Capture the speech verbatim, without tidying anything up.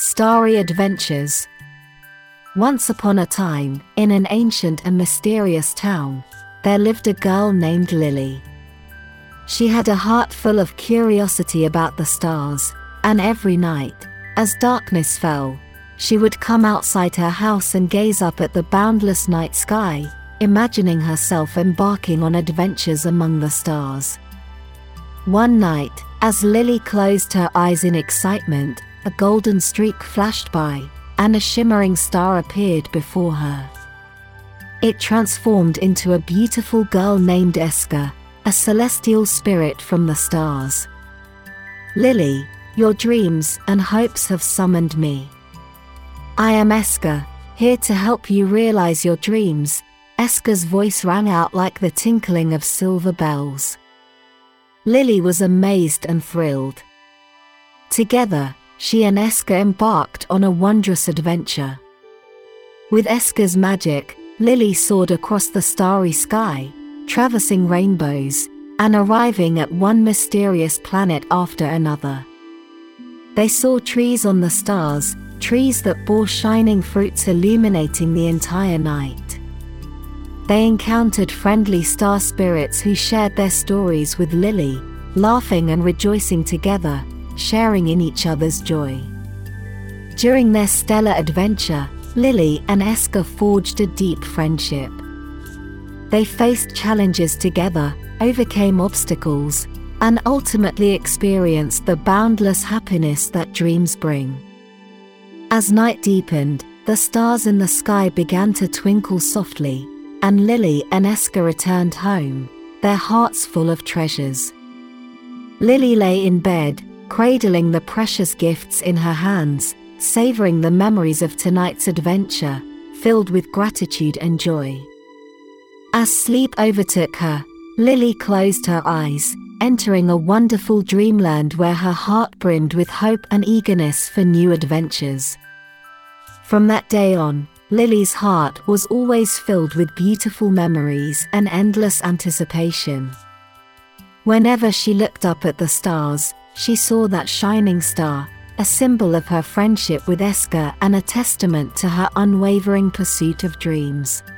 Starry Adventures. Once upon a time, in an ancient and mysterious town, there lived a girl named Lily. She had a heart full of curiosity about the stars, and every night, as darkness fell, she would come outside her house and gaze up at the boundless night sky, imagining herself embarking on adventures among the stars. One night, as Lily closed her eyes in excitement, a golden streak flashed by, and a shimmering star appeared before her. It transformed into a beautiful girl named Eska, a celestial spirit from the stars. "Lily, your dreams and hopes have summoned me. I am Eska, here to help you realize your dreams." Eska's voice rang out like the tinkling of silver bells. Lily was amazed and thrilled. Together, she and Eska embarked on a wondrous adventure. With Eska's magic, Lily soared across the starry sky, traversing rainbows, and arriving at one mysterious planet after another. They saw trees on the stars, trees that bore shining fruits illuminating the entire night. They encountered friendly star spirits who shared their stories with Lily, laughing and rejoicing together, sharing in each other's joy. During their stellar adventure, Lily and Eska forged a deep friendship. They faced challenges together, overcame obstacles, and ultimately experienced the boundless happiness that dreams bring. As night deepened, the stars in the sky began to twinkle softly, and Lily and Eska returned home, their hearts full of treasures. Lily lay in bed, cradling the precious gifts in her hands, savoring the memories of tonight's adventure, filled with gratitude and joy. As sleep overtook her, Lily closed her eyes, entering a wonderful dreamland where her heart brimmed with hope and eagerness for new adventures. From that day on, Lily's heart was always filled with beautiful memories and endless anticipation. Whenever she looked up at the stars, she saw that shining star, a symbol of her friendship with Eska and a testament to her unwavering pursuit of dreams.